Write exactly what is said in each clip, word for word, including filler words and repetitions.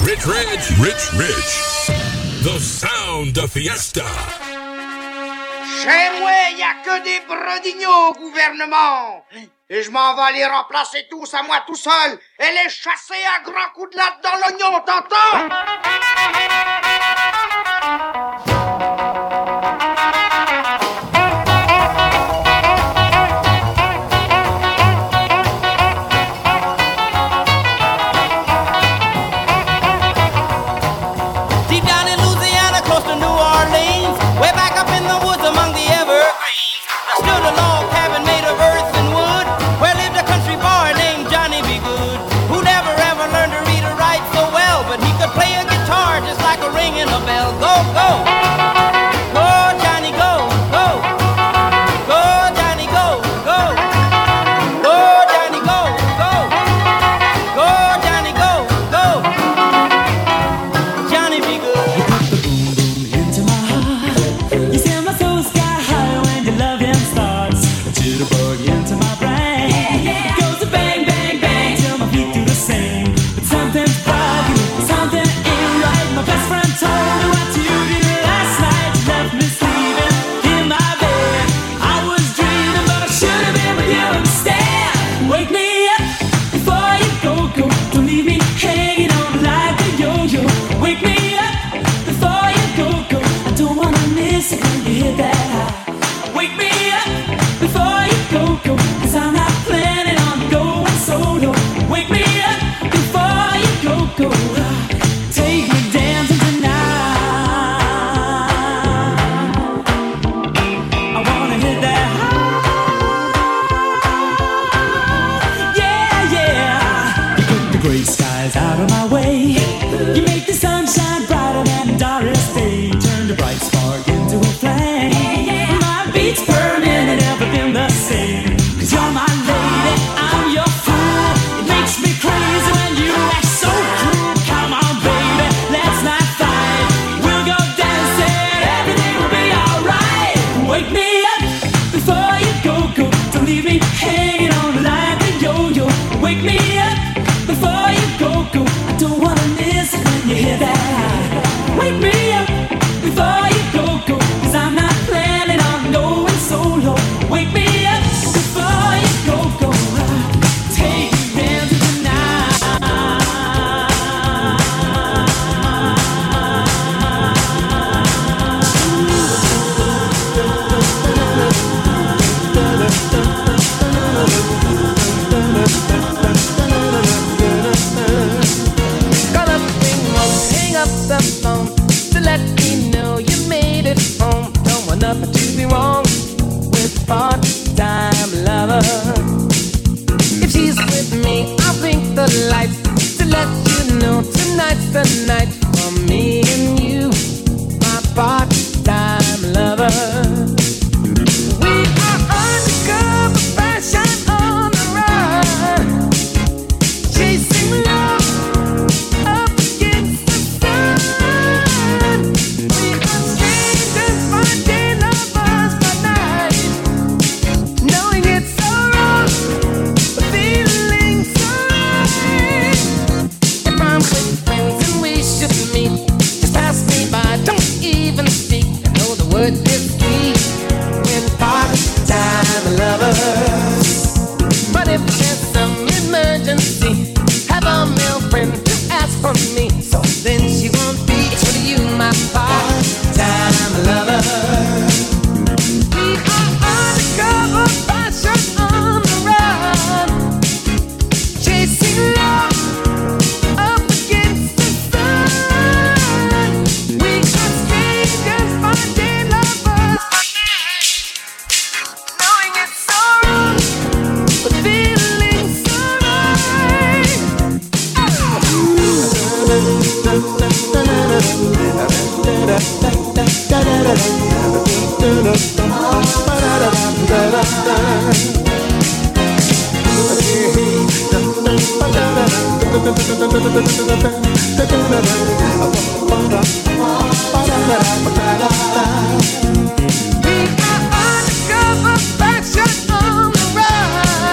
Rich Rich, Rich Rich, the sound of fiesta. Chez moi, y a que des brodignaux au gouvernement. Et je m'en vais les remplacer tous à moi tout seul et les chasser à grands coups de latte dans l'oignon, t'entends?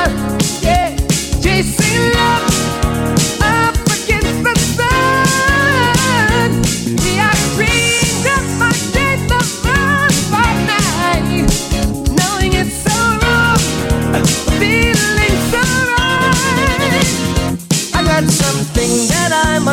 Chasing love up against the sun.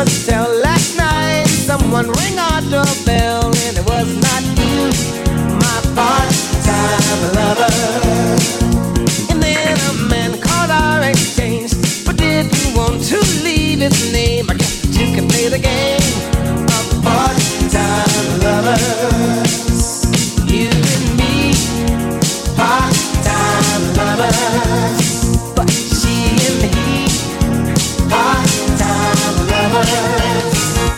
must tell, last night someone rang our doorbell and it was not you, my part-time lover. And then a man called our exchange, but didn't want to leave his name. I guess that you can play the game of part-time lovers. You and me, part-time lovers. But she and he, part-time lovers.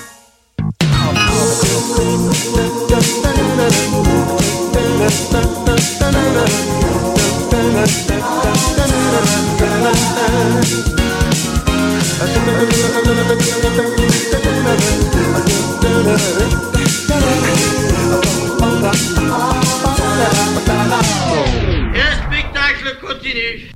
Et le spectacle continue.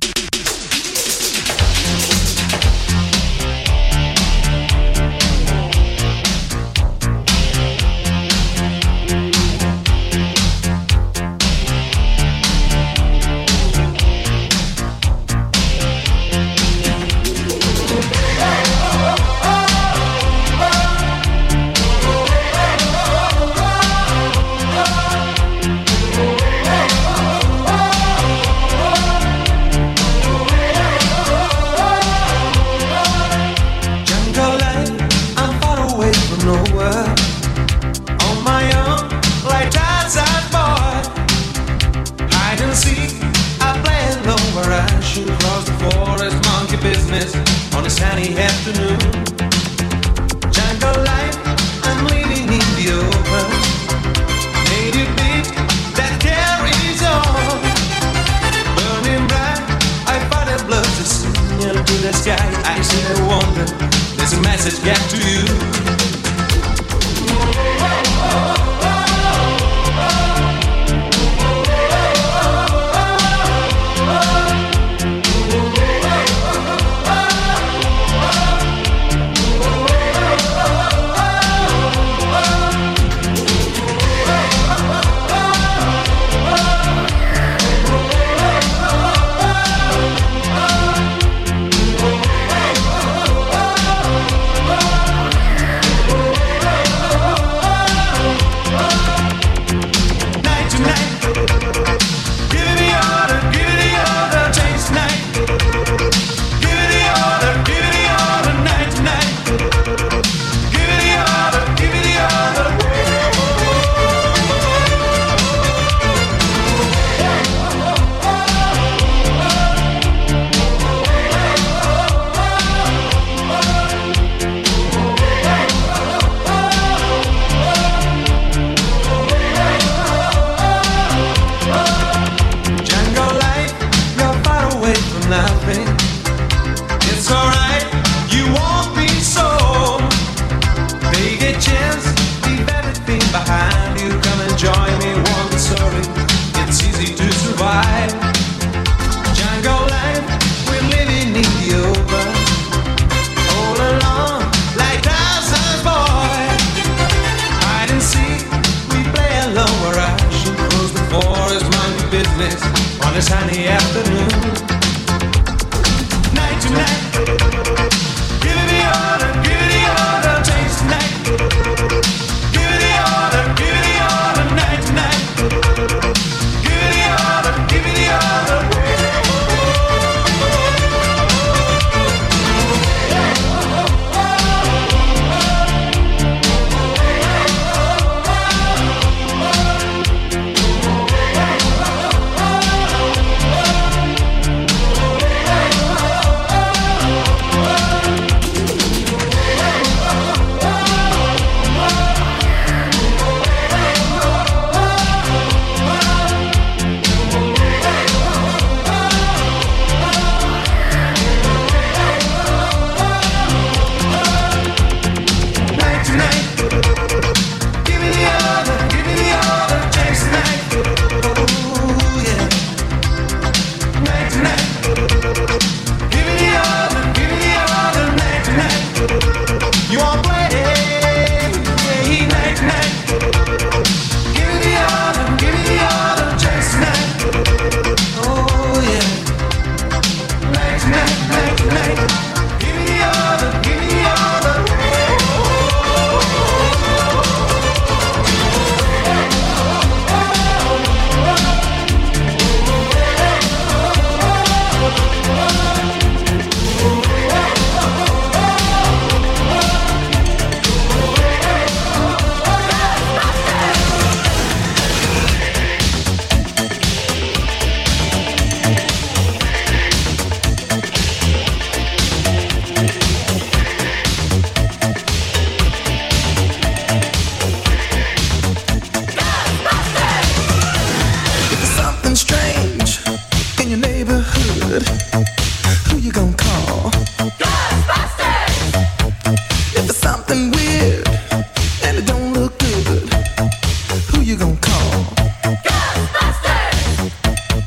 something weird and it don't look good, who you gonna call? Ghostbusters!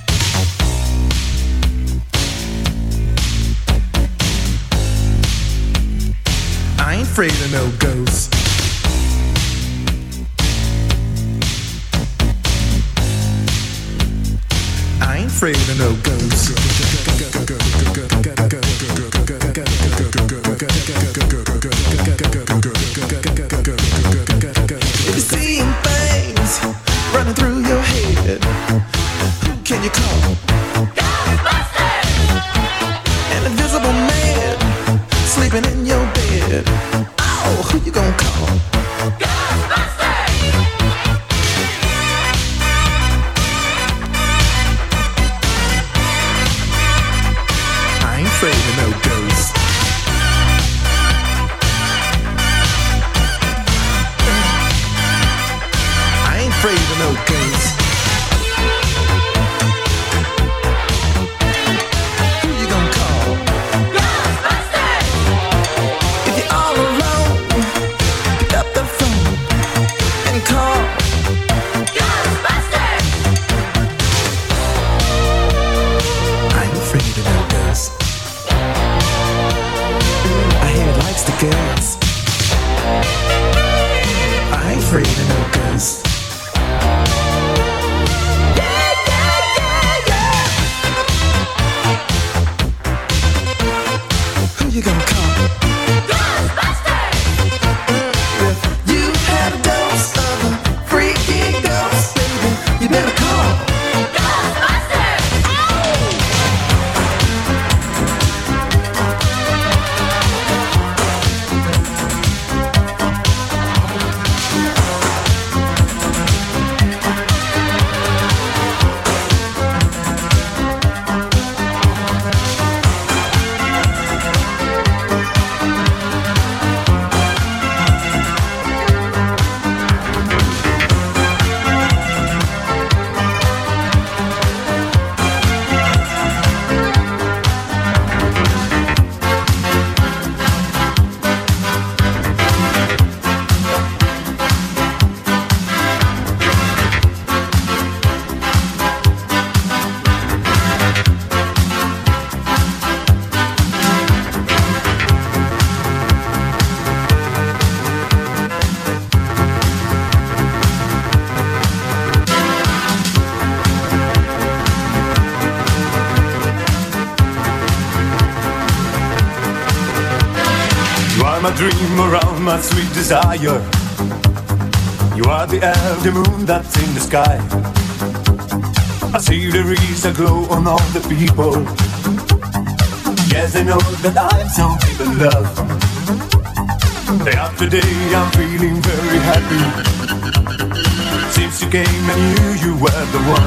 I ain't afraid of no ghosts. I ain't afraid of no ghosts. If you're seeing things running through your head, who can you call? Ghostbusters! An invisible man sleeping in your bed. Oh, who you gonna call? Ghostbusters! I ain't afraid of no ghosts. I ain't afraid of no ghosts. Who you gonna call? Ghostbusters! If you're all alone, pick up the phone and call Ghostbusters! I ain't afraid of no ghosts. I hear it likes the girls. I ain't afraid of no ghosts. Yeah, yeah, yeah, yeah. Who you gonna call? Ghostbusters! If you had a dose of a freaky ghost, baby, you better call Ghostbusters! My dream around my sweet desire. You are the air, the moon that's in the sky. I see there is a glow on all the people. Yes, I know that I'm so deep in love. Day after day I'm feeling very happy. Since you came I knew you were the one.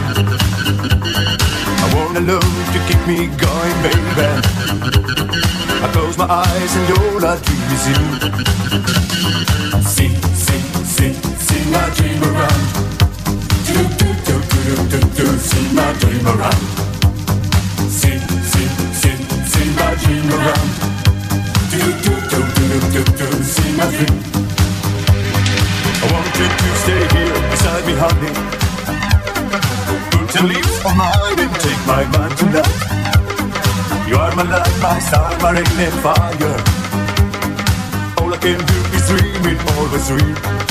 I want a love to keep me going, baby. I close my eyes and all I dream is you. See, see, see, see my dream around. Do, do, do, do, do, do, do, see my dream around. See, see, see, see my dream around. Do, do, do, do, do, do, see my dream. I want you to stay here beside me, honey. Put your leaves on mine and take my mind tonight. You are my light, my star, my rain and fire. All I can do is dream it, always dream.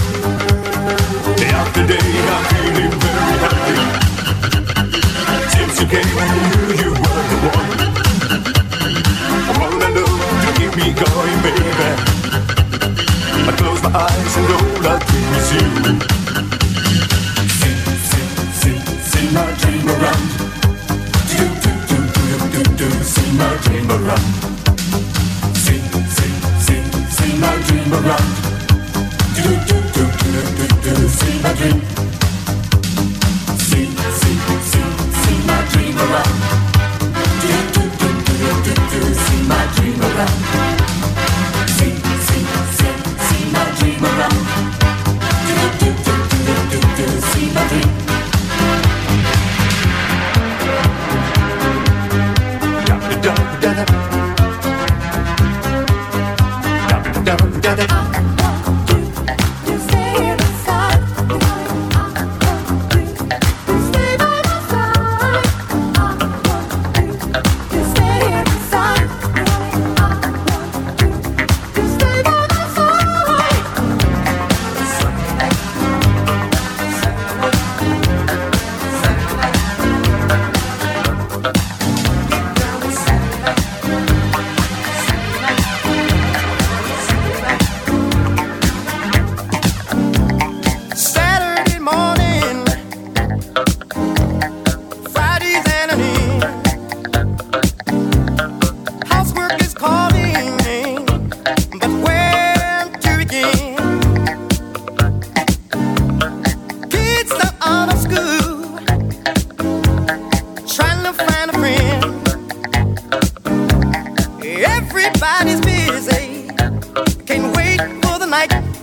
Day after day I'm feeling very happy. Since you came I knew you were the one. I wanna know to keep me going, baby. I close my eyes and all I dream is you. See, see, see, see my dream around. See my dream around. See, see, see, see my dream around. Do, do, do, do, do, do, see my dream. See, see, see, see my dream around. Do, do, do, do, do, do, see my dream around. See, see, see, see my dream around. Do, do, do, do, do, do, see my dream. Da da da da da da.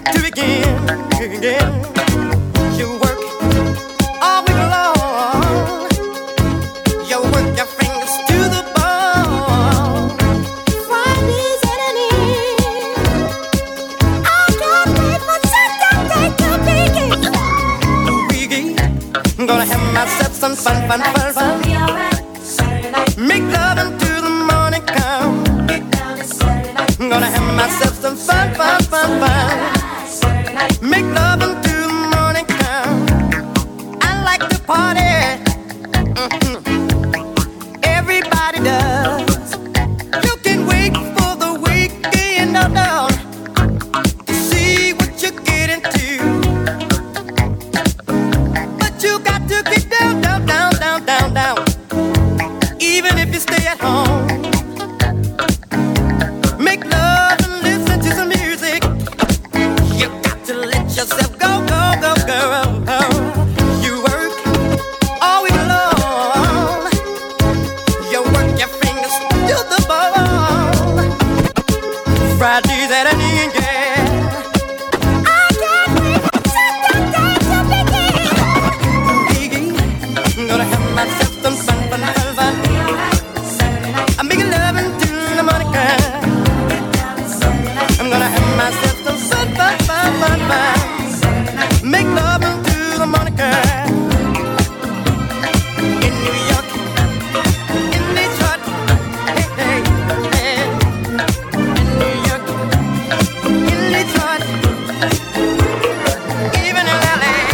to begin. Again. You work all week long. You work your fingers to the bone. Friday's at an end. I can't wait for Saturday to begin. Weekend, I'm gonna have myself some fun, fun, fun, fun. Make love until the morning come. I'm gonna have myself some fun, fun, fun, fun. Make love until the morning come. I like to party. Mm-hmm. Everybody does. You can wait for the weekend, no, no, to see what you get into. But you got to get down, down, down, down, down, down. Even if you stay at home. Make love and listen to some music. You got to let yourself go, go, go, go. You work all week long. You work your fingers to the bone. Friday's at an end, yeah. I can't wait for Saturday to begin. Biggie, I'm gonna have myself some fun, fun, fun, fun. I'm making love until the morning comes. I'm gonna have myself some fun, fun, fun, fun, fun. Make love until the morning comes. In New York, in Detroit, hey, hey, hey. In New York, in Detroit, even in L A.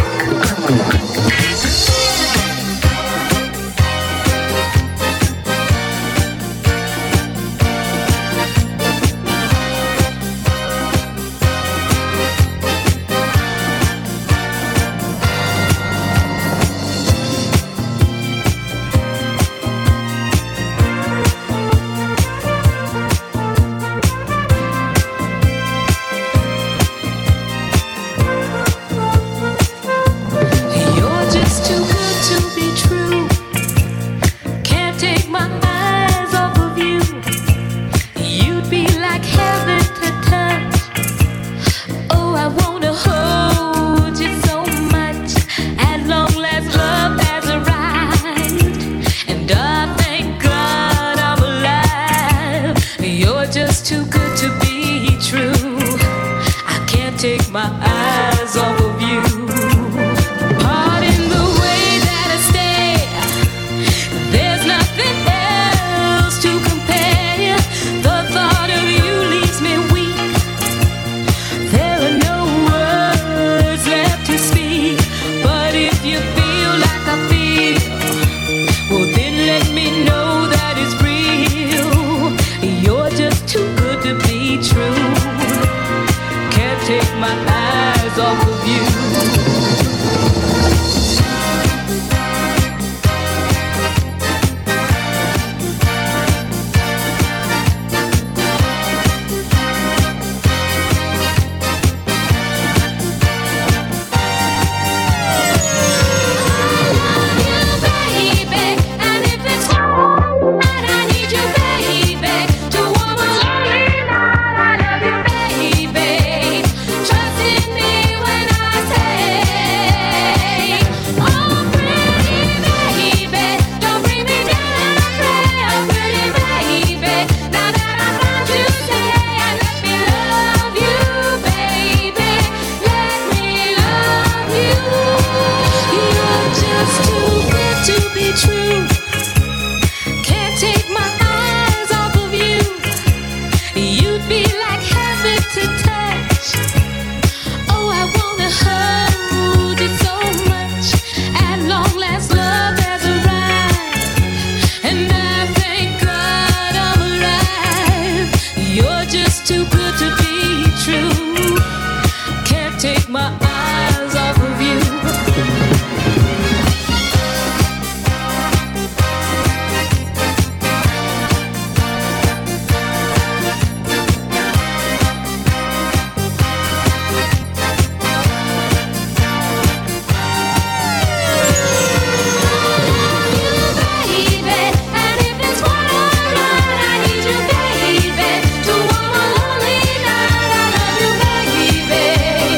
You're just too good to be true. Can't take my eyes off of you. You'd be like heaven to touch. Oh, I wanna hold you so much. At long last, love has arrived, and I thank God I'm alive. You're just too good to be true. I can't take my eyes off of you. Pardon the way that I stare. There's nothing else to compare. The thought of you leaves me weak. There are no words left to speak. But if you feel like I feel, well then let me know that it's real. You're just too good to be true. Can't take my eyes off of you. Baby, and if it's right, I need you, baby, to warm a lonely night. I love you, baby. Trust in me when I say, oh, pretty baby, don't bring me down. I pray, oh, pretty baby, now that I found you, say, and let me love you, baby. Let me love you. You're just too good to be true. Can't take my eyes off of you. You'd be like heaven to touch. Oh, I wanna hold you so much. At long last, love has arrived, and I thank God I'm alive. You're just too good to be true. Can't take my eyes off of you. Baby, to warm a lonely night, I love you, baby.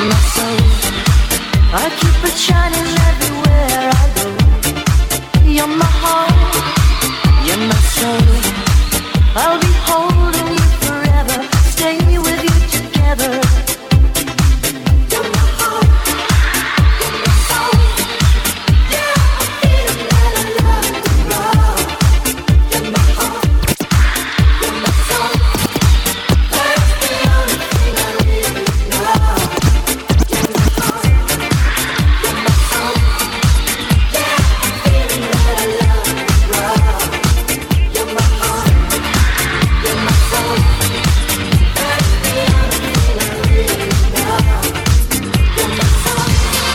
my soul. I keep it shining everywhere I go. You're my heart, you're my soul. I'll be holding you forever, stay with you together. You're my heart, you're my soul. Yeah, I feel that I love you, love. You're my heart, you're my soul. That's the only thing I really know. You're my heart, you're my soul. Yeah, I feel that I love you, love. You're my heart, you're my soul. That's the only thing I really know. You're my soul.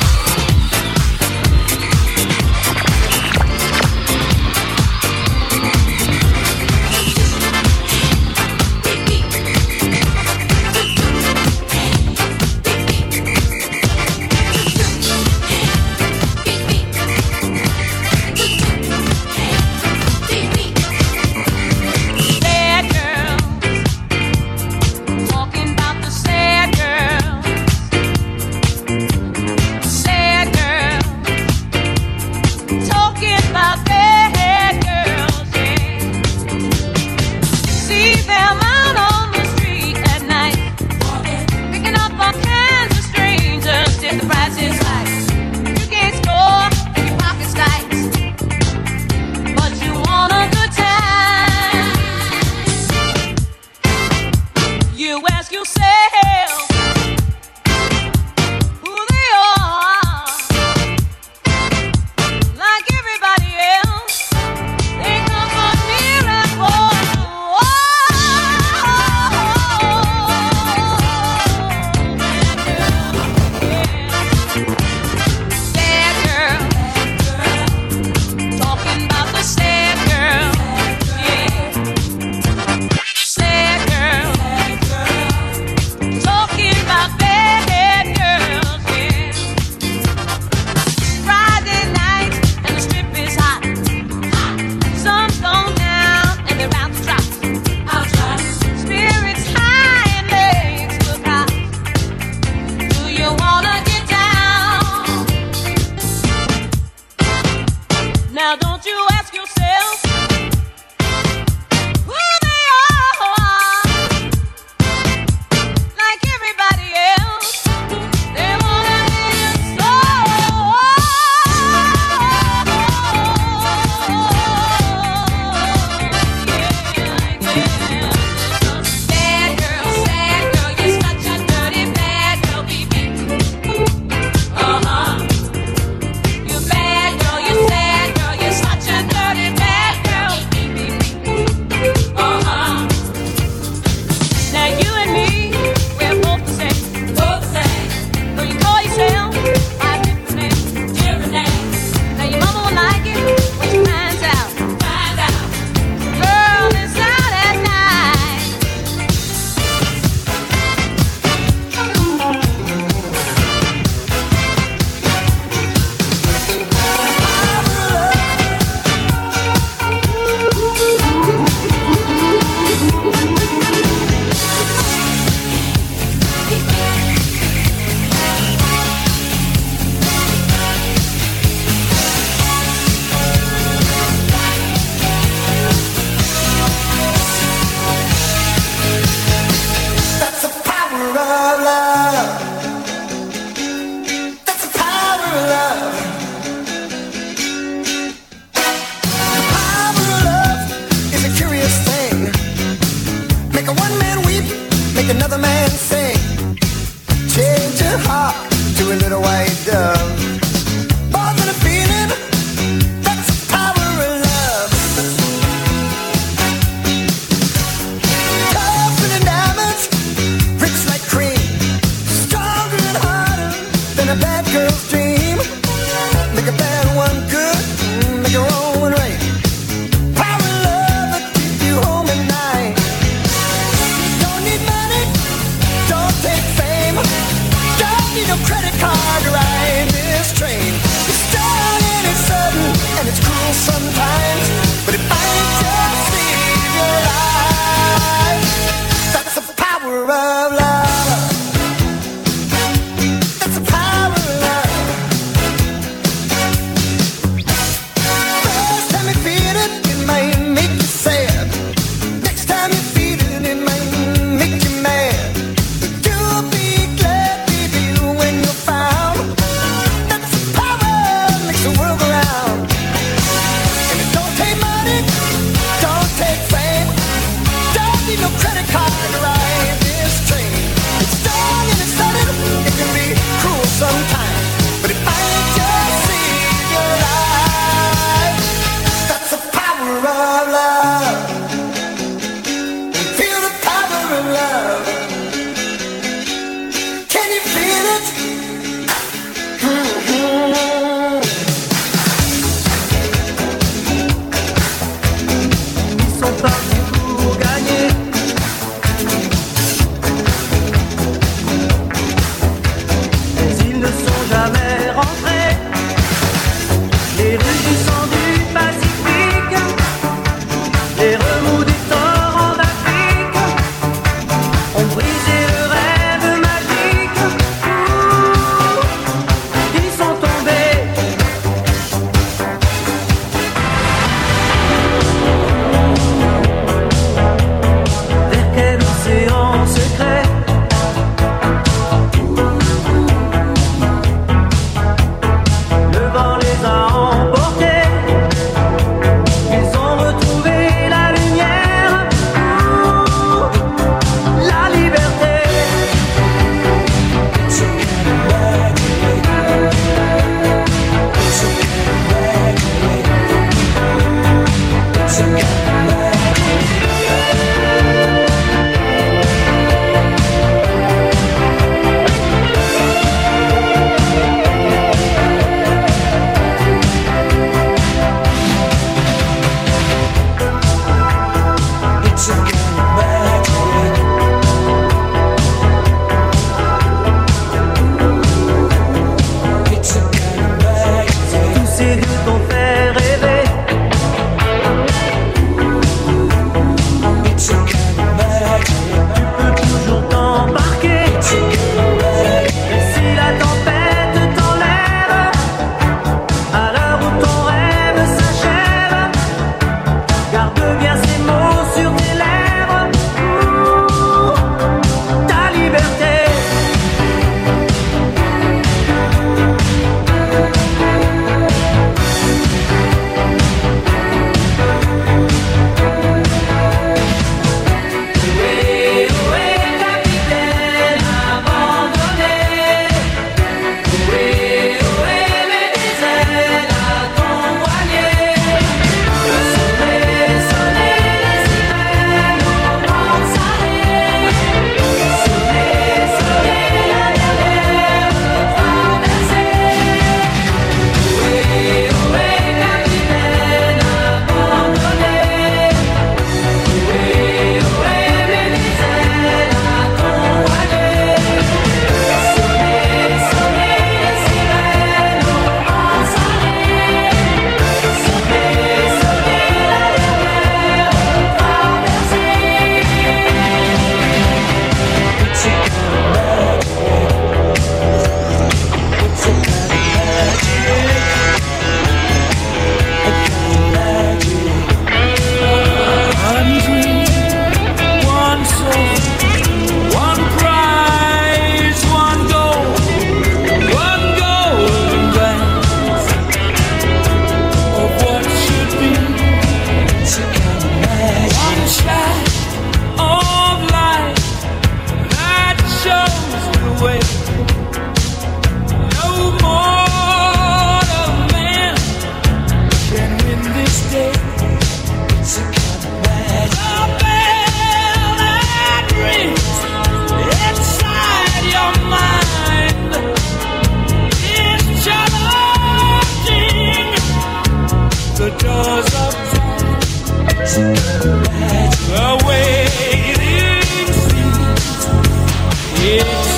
Sad girl, talking about the sad girl. Sad girl, talking about bad girls. Yeah, see them out on the street at night, picking up all kinds of strangers. If the price is right, you can't score and your pocket's tight, but you want a good time. You ask yourself who they are. Like everybody else, they come from near and far. Sad girl, talking about the sad girl. Yeah. Sad girl, talking about bad girls. Yeah. Friday night and the strip is hot. Sun's gone down and they're out to drop. Spirits high and legs look hot. Do you wanna get down? Now don't you ask yourself who they are. Like everybody else, they wanna be your soul. Yeah, yeah. Sad girl, sad girl, you're such a dirty bad girl, baby. Uh-huh. You bad girl, you sad girl, you're such a dirty bad girl, baby. Uh-huh. Now you and me, we're both the same. Both the same. Though you call yourself by different names. Different names. Now your mama will like it when she finds out. Finds out. Girl is out at night. That's the power of love. That's the power of love. The power of love is a curious thing. Make a one man weep, make another man sing. Change your heart to a little white dove. More than a feeling, that's the power of love. Tougher than diamonds, rich like cream, stronger and harder than a bad girl's dream. Make a bad one good, make a wrong one right. Power of love that keeps you home at night. Don't need money, don't take fame, don't need no credit card to ride.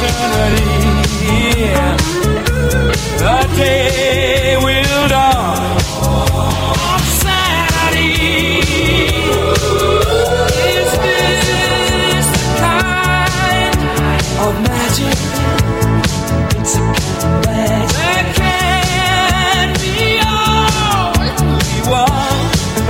eternity. The day will dawn of sanity. Is this the kind of magic? It's a kind of magic that can be all we want.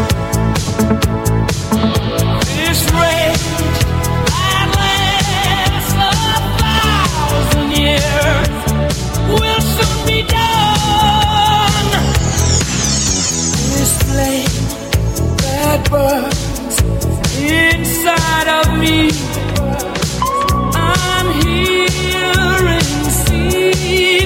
This rage that lasts a thousand years will soon be done. This flame that burns inside of me, I'm here in sea.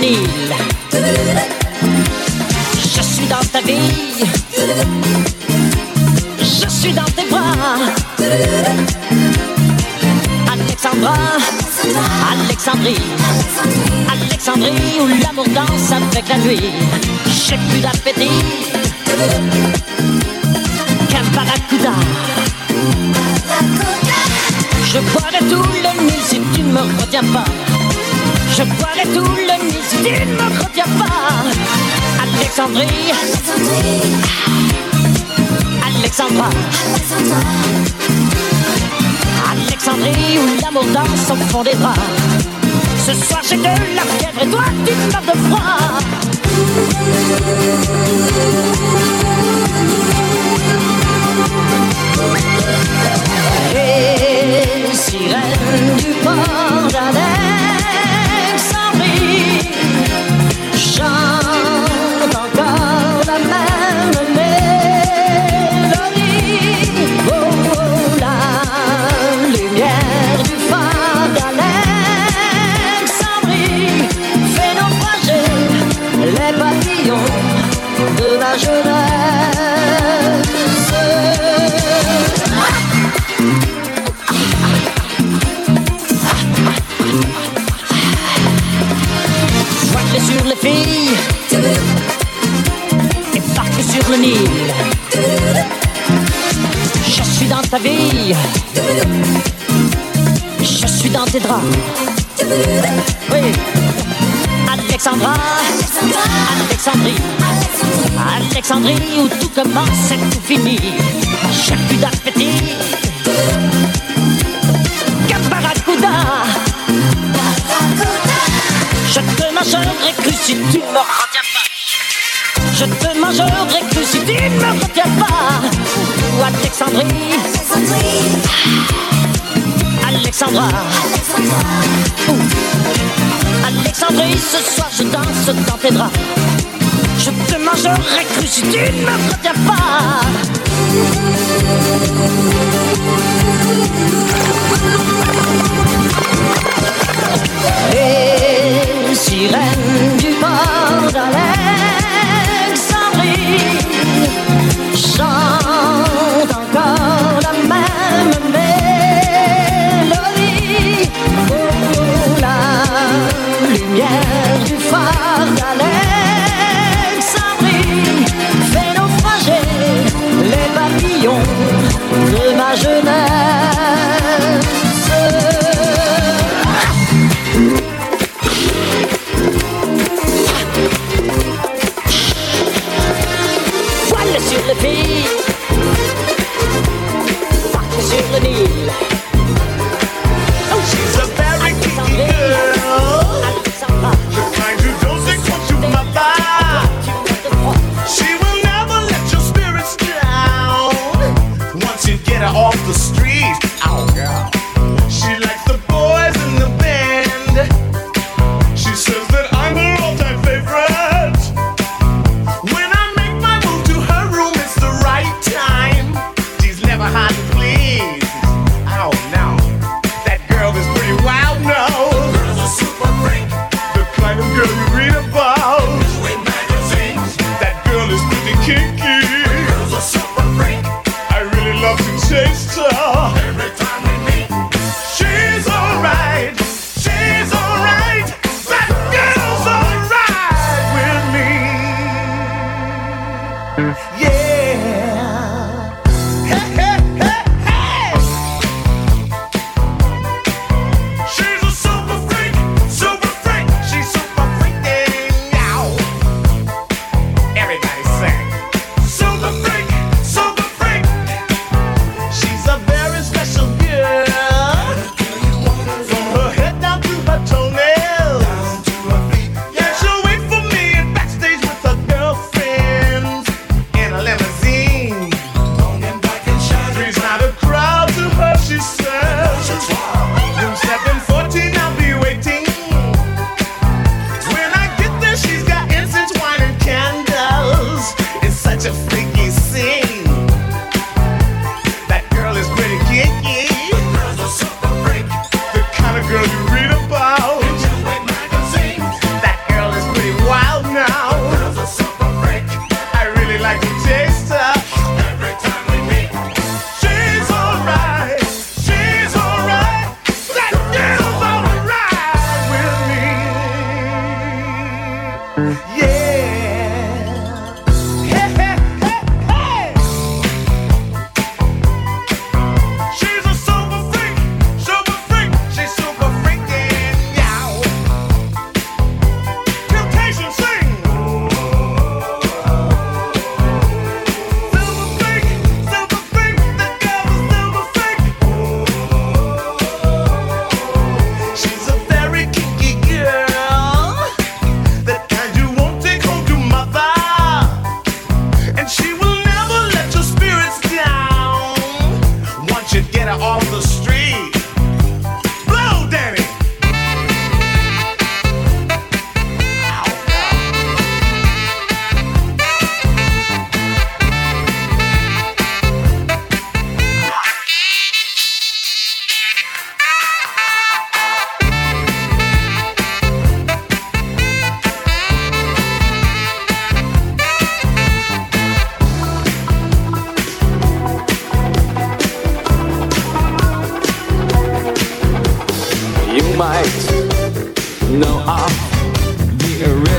Nil. Je suis dans ta vie. Je suis dans tes bras. Alexandra, Alexandrie, Alexandrie où l'amour danse avec la nuit. J'ai plus d'appétit qu'un barracuda. Je boirai tout le Nil si tu ne me retiens pas. Je boirai tout le Nil si tu ne me retiens pas. Alexandrie, Alexandra, Alexandrie où l'amour danse au fond des draps. Ce soir j'ai de la fièvre et toi tu meurs de froid. Les sirènes du port d'Alexandrie chantent encore la même mélodie. Oh, oh, la lumière du phare d'Alexandrie fait naufrager les papillons de ma jeunesse. Soigne sur les filles et parque sur le Nil. Je suis dans ta vie. Je suis dans tes draps. Oui. Alexandra, Alexandrie, Alexandrie où tout commence et tout finit. J'ai plus d'appétit qu'un barracuda. Je te mangerai cru si tu ne me retiens pas. Je te mangerai cru si tu ne me retiens pas. Ou Alexandrie, Alexandra, Ouh. Alexandrie, ce soir je danse dans tes draps. Je te mangerai cru si tu ne me retiens pas. Les sirènes du port d'Alexandrie chantent encore la même mélodie. Oh, la lumière du phare d'Alexandrie fait naufrager les papillons de ma jeunesse. Voile sur le pays, parc sur le Nil. She's a very kinky girl, the kind who doesn't come to my bar. She will never let your spirits down once you get her off the street. Oh, girl. She likes the boys in the band. She says that I'm her all-time favorite. When I make my move to her room, it's the right time. She's never hard to please. Oh, no. That girl is pretty wild now. Girl's a super freak. The kind of girl you read about in magazines. That girl is pretty kinky. Girl's a super freak. I really love to taste her. Every time we meet, she's alright. She's alright. That girl's alright with me. Yeah. Hey, hey, hey, hey. She's a super freak, super freak. She's super freaking out. Everybody sing. Super freak, super freak. She's a very special girl. From her head down to her toenails. Yeah, she'll wait for me at backstage with her girlfriends in a limousine. Three's not a crowd to her, she says. Room seven fourteen, I'll be waiting. When I get there, she's got incense, wine, and candles. It's such a freaky scene. That girl is pretty kinky. Girl's a super freak. The kind of girl you read about. That girl is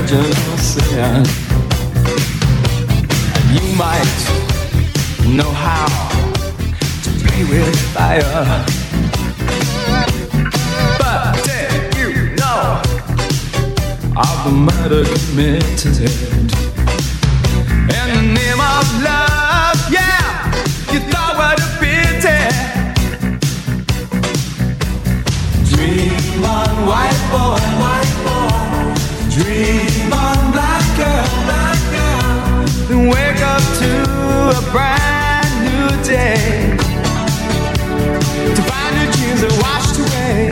original sin. And you might know how to play with fire, but did you know of the murder committed in the name of love? Yeah, you thought what a pity. Dream on, white boy, white boy. Dream on, black girl, black girl. Then wake up to a brand new day, to find your dreams are washed away.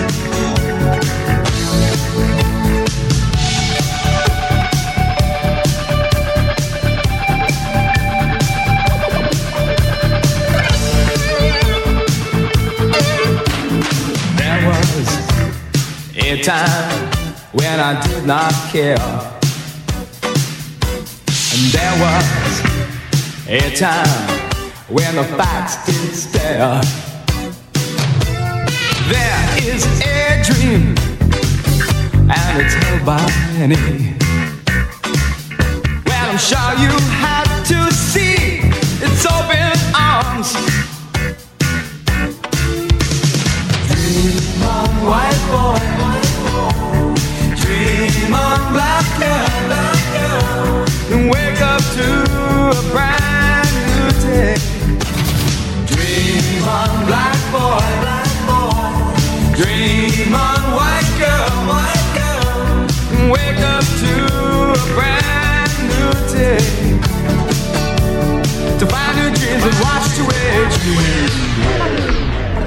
There was a time when I did not care, and there was a time when the facts did stare. There is a dream, and it's held by many. Well, I'm sure you have to see its open arms. Dream on, white boy, white boy. Dream on, black girl, black girl. And wake up to a brand new day. Dream on, black boy, black boy. Dream on, white girl, white girl. And wake up to a brand new day, to find your dreams and washed away dreams.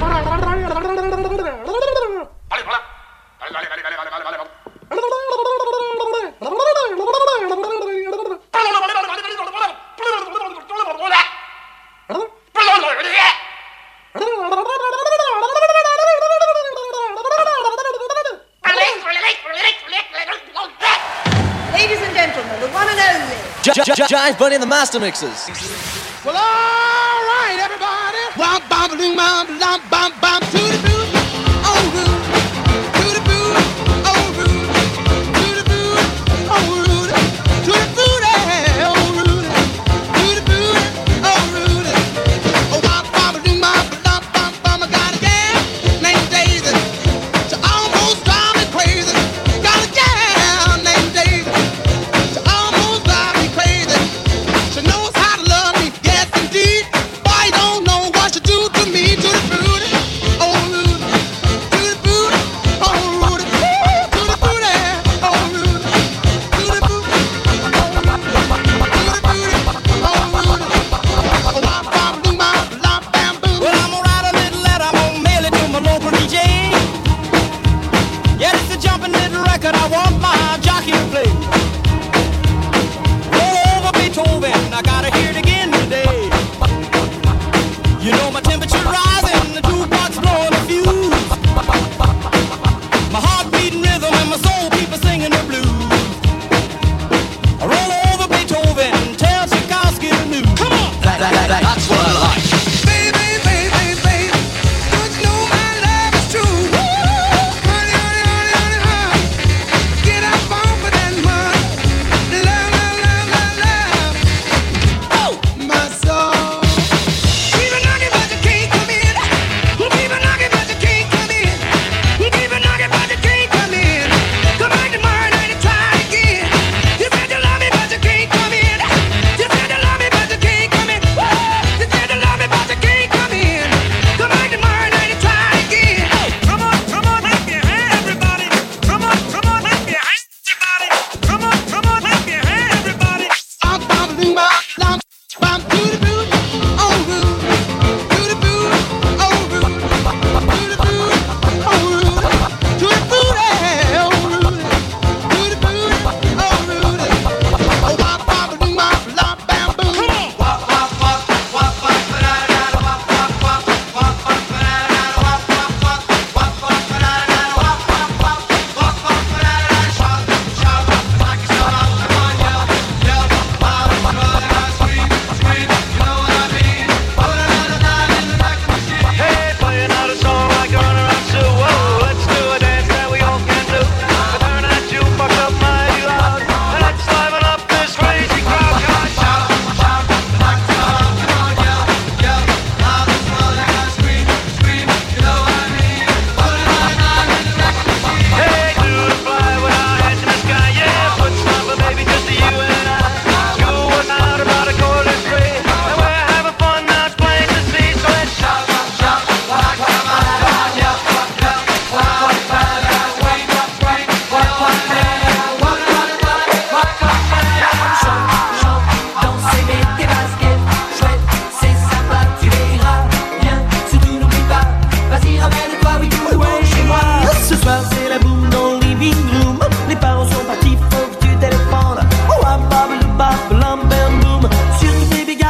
Ladies and gentlemen, the one and only Jive Bunny and the Master Mixers. Well, all right, everybody. Bum, bum, boom, bum, bum, bum, bum, to the boot, oh, root, to the boot, oh, root, to the boot, oh, root, to the boot, oh, root, to the boot, oh, root. Oh, bum, bum, boom, bum, bum, bum, bum, I got a gal named Daisy. She almost drive me crazy. Got a gal named Daisy. She almost drive me crazy. She knows how to love me, yes indeed. Boy, you don't know what you do to me, to the booty. Oh,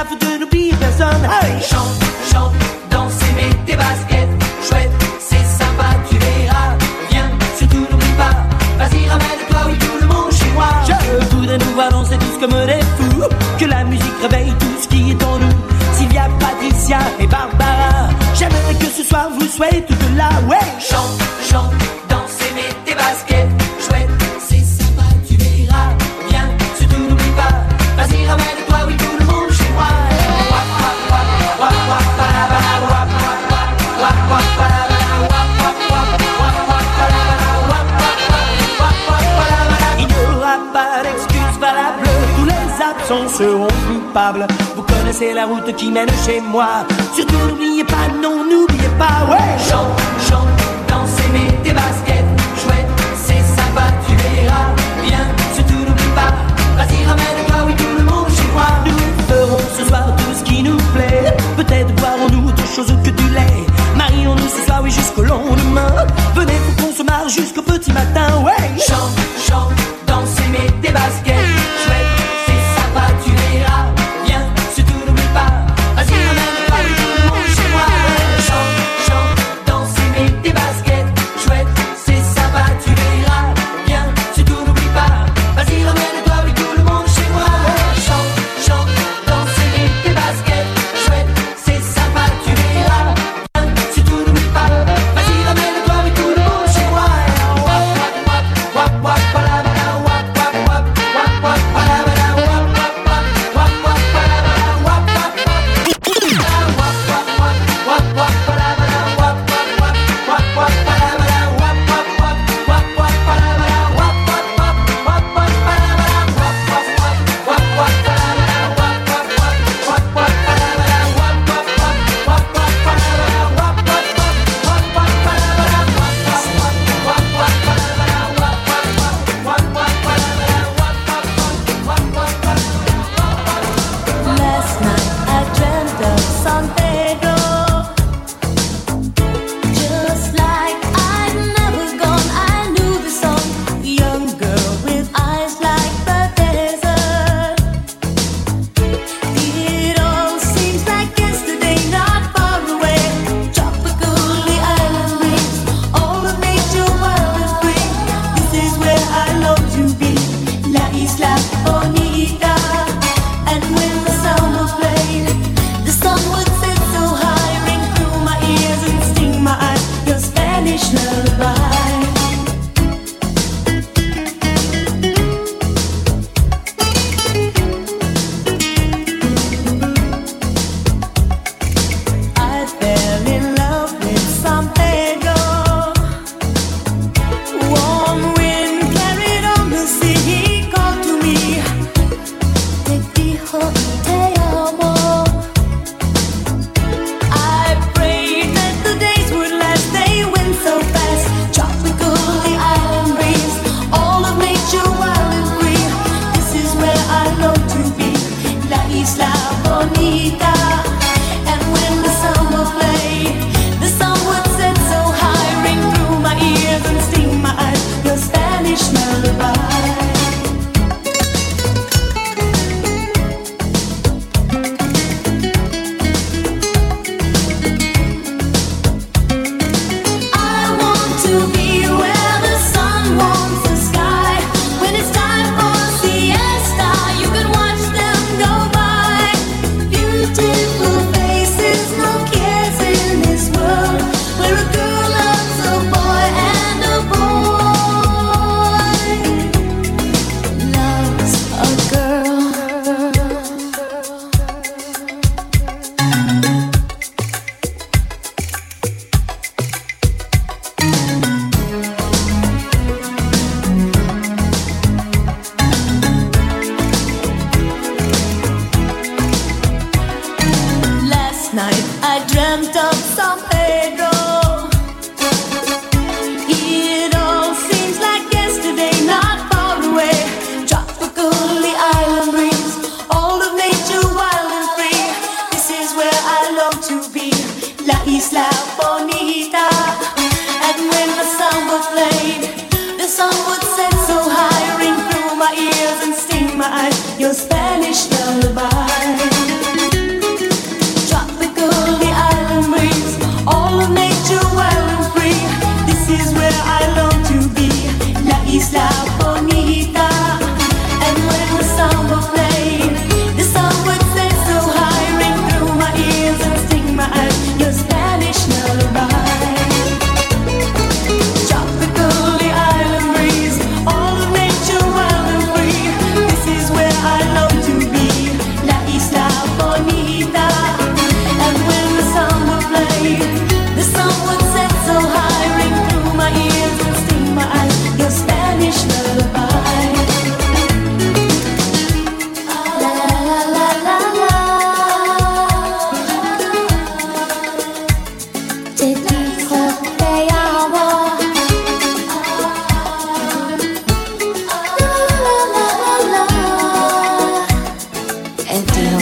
faut de n'oublier personne. Hey! Chante, chante, danser, mets tes baskets. Chouette, c'est sympa, tu verras. Viens, surtout n'oublie pas. Vas-y, ramène-toi, oui, tout le monde chez moi. Je voudrais nous voir danser tous comme des fous. Que la musique réveille tout ce qui est en nous. Sylvia, Patricia et Barbara. J'aimerais que ce soir vous soyez toutes là, ouais. Chante, chante, dansez, mets tes baskets. Chouette, c'est sympa, tu verras. Viens, surtout n'oublie pas. Vas-y, ramène-toi, oui, tout le monde chez moi. Wap, wap, wap, wap, wap, palabala, wap, wap, wap, wap, wap, palabala, wap, wap, wap, wap, wap, palabala, wap, wap, wap, wap, wap, palabala. Il n'y aura pas d'excuses valables. Tous les absents seront coupables. Vous connaissez la route qui mène chez moi. Surtout n'oubliez pas, non, n'oubliez pas, ouais. Chante, chante, dansez, mets tes baskets. Chouette, c'est sympa, tu verras. Viens, surtout n'oublie pas. Vas-y, ramène-toi, oui, tout le monde chez moi. Nous ferons ce soir tout ce qui nous plaît. Peut-être boirons-nous autre chose que du lait. Marions-nous ce soir, oui, jusqu'au lendemain. Venez, faut qu'on se marre jusqu'au petit matin, ouais. Chante, chante, dansez, mets tes baskets. Chouette, c'est sympa, tu verras. Viens, surtout n'oublie pas. Vas-y, ramène-toi, oui, tout le monde chez moi. Chante, chante, dansez, mets tes baskets. Chouette, c'est sympa, tu verras. Viens, surtout n'oublie pas. Vas-y, ramène-toi, oui, tout le monde chez moi. Chante, chante, dansez, mets tes baskets. Chouette, c'est sympa, tu verras. Viens, surtout n'oublie pas. Vas-y, ramène-toi, oui, tout le monde chez moi. Wap, wap, wap, wap, wap, palabala, wap, wap, wap, wap, wap, palabala, wap, wap, wap, wap, wap, palabala, wap, wap, wap, wap, wap, wap, wap, palabala, wap, wap, wap, wap, wap, palabala, wap, wap, wap, wap, wap, palabala, wap, wap, wap, wap, wap, palabala, wap, wap, wap, wap, wap, palabala, wap, wap, wap, wap, wap, palabala, wap, wap, wap, wap, wap, palabala, wap, wap, wap, wap, wap, palabala, wap, wap, wap, wap, wap, Last night I dreamt of San Pedro, just like I'd never gone. I knew the song, young girl with eyes like the desert. It all seems like yesterday, not far away. Tropical, the island breeze, all of nature wild and free. This is where I long to be, La Isla Bonita. And when the sound was played, the sun would sit so high, ring through my ears and sting my eyes. Your Spanish lullaby. I fell in love with San Pedro. Warm wind carried on the sea. He called to me. Te dijo te amo. I prayed that the days would last. They went so fast. Tropical, the island breeze, all of nature wild and free. This is where I long to be, La Isla Bonita. And when the summer played, the sun would set so high, ring through my ears and sting my eyes. Your Spanish lullaby. I want to be where the sun warms the sky. When it's time for siesta, you can watch them go by. Beautiful faces, no cares in this world, where a girl loves a boy and a boy loves a girl. Last night I dreamt of San Pedro. It all seems like yesterday, not far away. Tropical, the island breeze, all of nature wild and free. This is where I long to be, La Isla Bonita. And when the samba played, the sun would set so high, ring through my ears and sting my eyes. Your Spanish lullaby.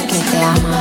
que te ama.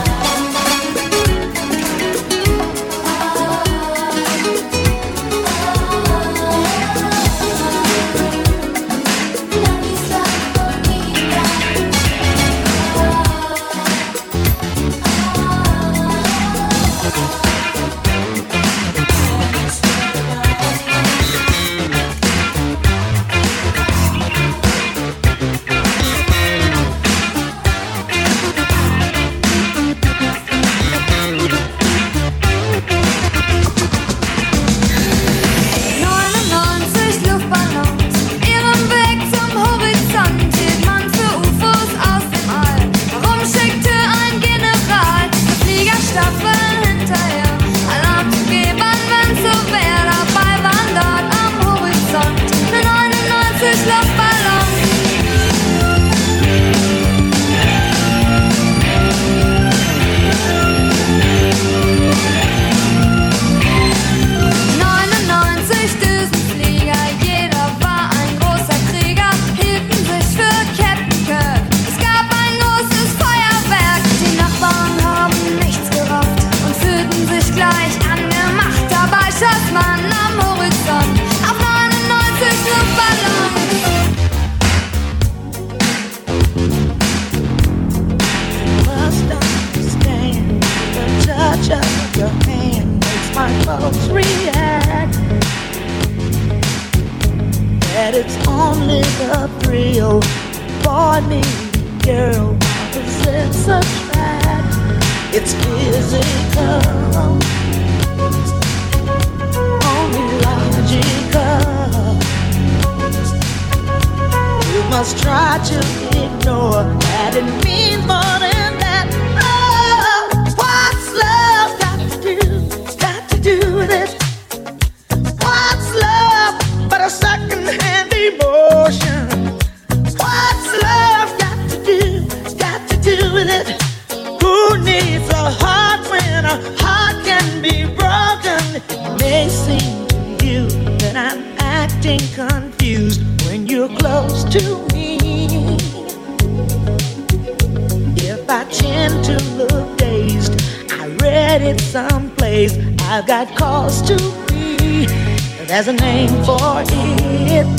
There's a name for it.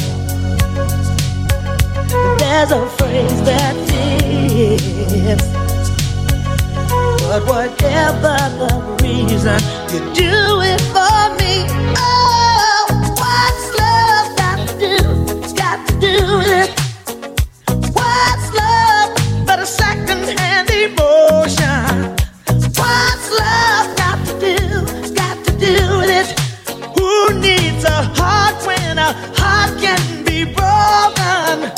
There's a phrase that fits. But whatever the reason, you do it for me. Oh, what's love got to do? It's got to do with it. What's love but a second-hand emotion? What's love got to do? Got to do with it. Who needs a heart when a heart can be broken?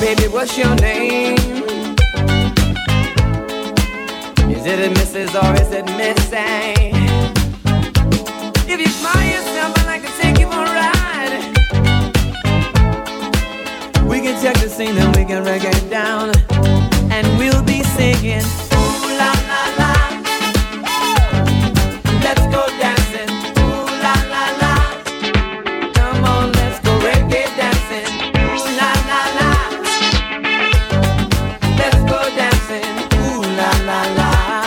Baby, what's your name? Is it a Missus or is it Missy? If you smile yourself, I'd like to take you for a ride. We can check the scene and we can reggae it down, and we'll be singing ooh la la la. Let's go dancing, ooh la la la. Come on, let's go reggae dancing, ooh la la la. Let's go dancing, ooh la la la.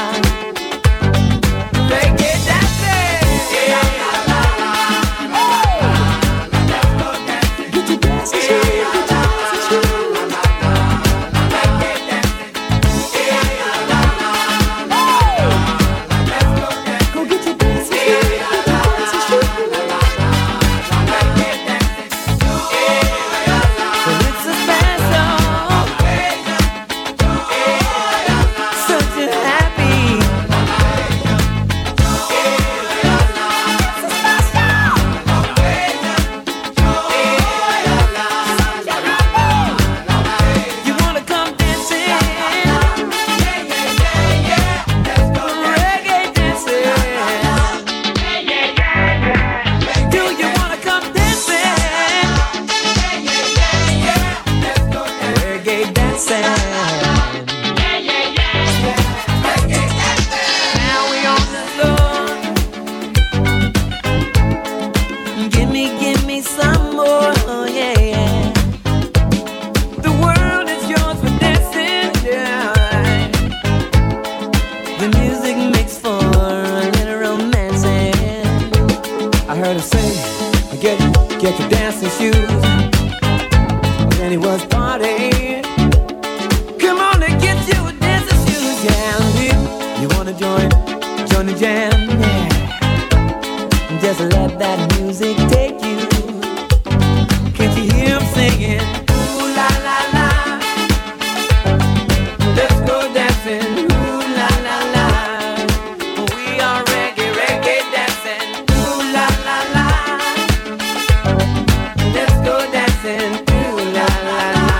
Reggae dancing, yeah la la la. Let's go dancing, get your dancing shoes, get your dancing shoes. Reggae dancing, yeah la la la. Let's go dancing, go get your dancing shoes, get your dancing shoes. Reggae dancing, yeah la la. Well, it's a special occasion, such a happy. You wanna come dancing? Reggae dancing. Do you wanna come dancing? Reggae dancing. Now we on the floor. Give me, give me some more, oh, yeah, yeah. The world is yours for dancing, yeah. The music makes for a little romancing. I heard her say, get, get your dancing shoes. Then he was partying. Come on and get your dancing shoes, yeah. And you, you wanna join, join the jam, yeah. Just let that music take you. Can't you hear him singing? Ooh la la la. Let's go dancing. Ooh la la la. We are reggae, reggae dancing. Ooh la la la. Let's go dancing. Ooh la la la.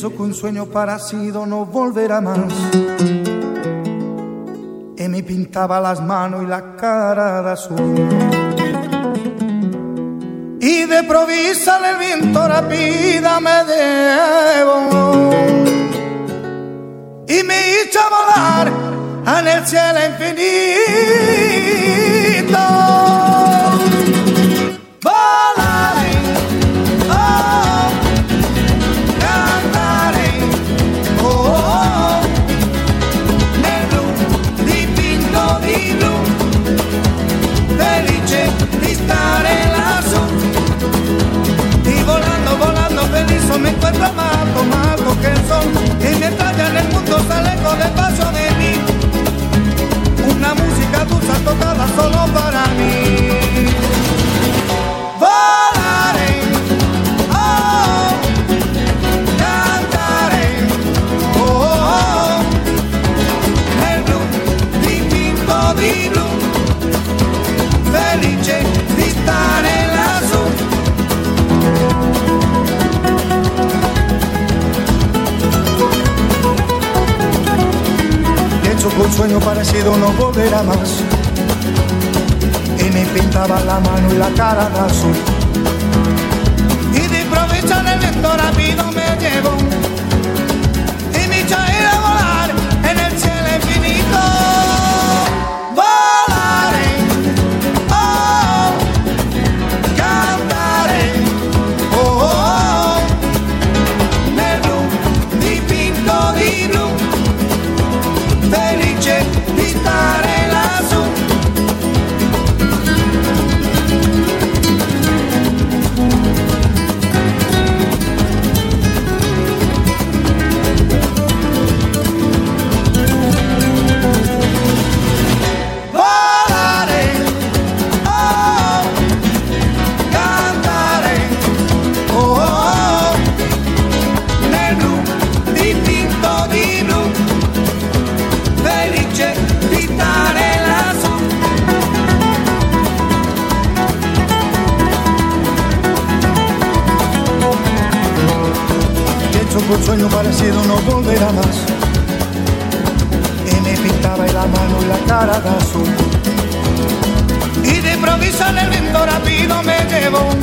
Pienso que un sueño parecido no volverá más. Y me pintaba las manos y la cara de azul. Y de provisa el viento rápida me llevó y me hizo volar en el cielo infinito. Volaré, oh, cantaré, oh, oh, nel blu dipinto di blu, felice di stare lassù. Y volando, volando feliz me encuentro más alto que el sol. Y mientras ya en el mundo sale con el paso de mí, una música dulce tocada solo para mí. Volaré, oh, cantaré, oh, oh, nel blu dipinto di blu, felice di stare lassù. Pienso que un sueño parecido no volverá más. Y me pintaba la mano y la cara de azul. Y de improviso en el viento rápido me llevó y me echó a ir a volar en el cielo infinito. Volaré, oh, cantaré, oh, oh, nel blu dipinto di blu, felice di stare lassù. Volare, oh, cantare, oh, oh, nel blu dipinto di blu, felice di stare lassù. Pienso que un sueño parecido no volverá más. Y me pintaba la mano y la cara de azul. Y de improviso en el viento rápido me llevó